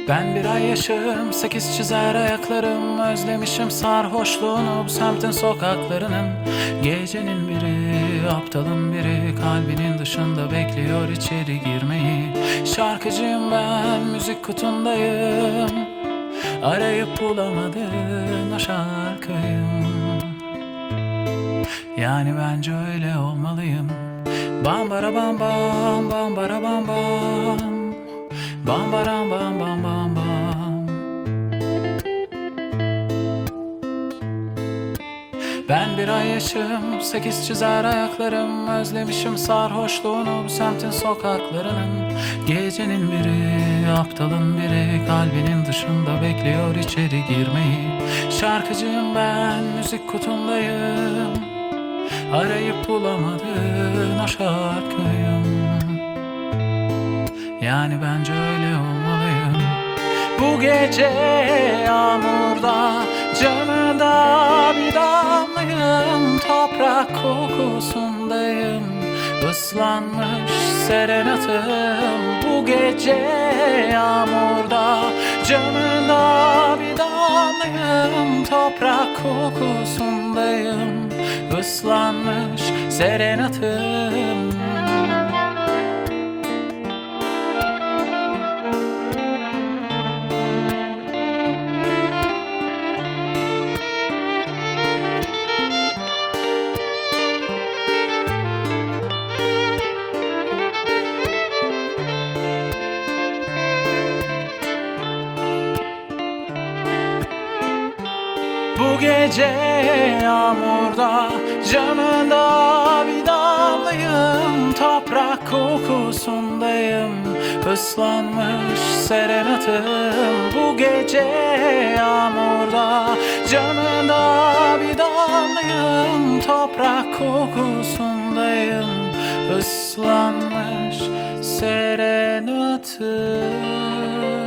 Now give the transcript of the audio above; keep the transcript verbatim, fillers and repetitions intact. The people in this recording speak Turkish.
Ben bir ay yaşım, sekiz çizer ayaklarım. Özlemişim sarhoşluğunu bu semtin sokaklarının. Gecenin biri, aptalın biri, kalbinin dışında bekliyor içeri girmeyi. Şarkıcıyım ben, müzik kutundayım. Arayıp bulamadın o şarkıyım. Yani bence öyle olmalıyım. Bam bara bam bam, bam bara bam bam. Bam baram bam bam bam bam. Ben bir ay yaşım, sekiz çizer ayaklarım. Özlemişim sarhoşluğunu bu semtin sokaklarının. Gecenin biri, aptalın biri, kalbinin dışında bekliyor içeri girmeyi. Şarkıcıyım ben, müzik kutundayım. Arayıp bulamadın o şarkıyım. Yani bence öyle olmalıyım. Bu gece yağmurda, canında bir damlayım. Toprak kokusundayım, ıslanmış serenatım. Bu gece yağmurda, canında bir damlayım. Toprak kokusundayım, ıslanmış serenatım. Bu gece yağmurda, canında bir damlayım. Toprak kokusundayım, ıslanmış serenatım. Bu gece yağmurda, canında bir damlayım. Toprak kokusundayım, ıslanmış serenatım.